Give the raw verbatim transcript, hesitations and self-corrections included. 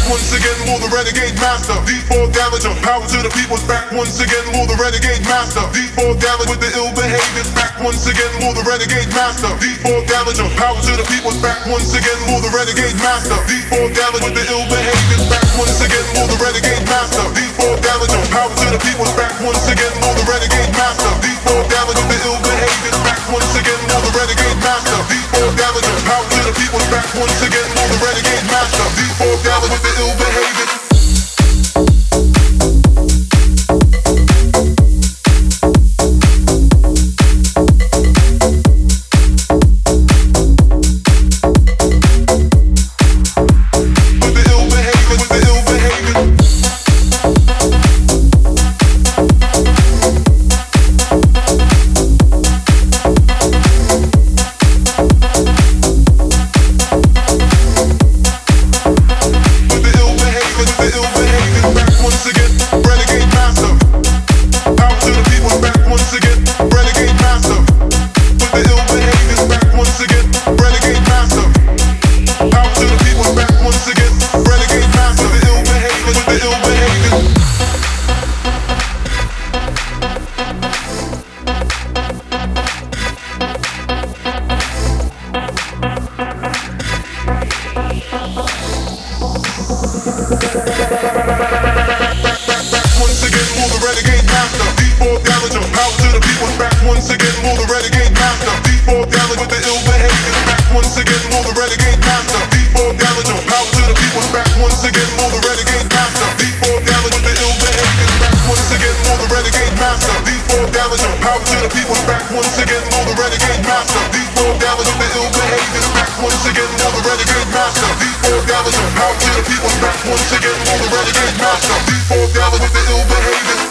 once again, more the renegade master. D four Damager, power to the people's back once again, more the renegade master. D four Damager with the ill behaviors back once again, more the renegade master. D four Damager, power to the people's back once again, more the renegade master. D four Damager with the ill behaviors back once again, more the renegade master. D four Damager, power to the people's back once again, more the renegade master. D four Damager with the ill behaviors back once again, more the renegade master. D four Damager, power to the people's back once again, more the renegade master. D four Damager with the ill behaviors. Once again, more the renegade master. D four Dallas with the ill behavior.